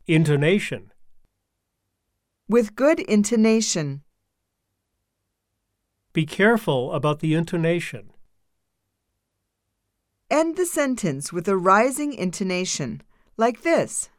Intonation. With good intonation. Be careful about the intonation. End the sentence with a rising intonation, like this.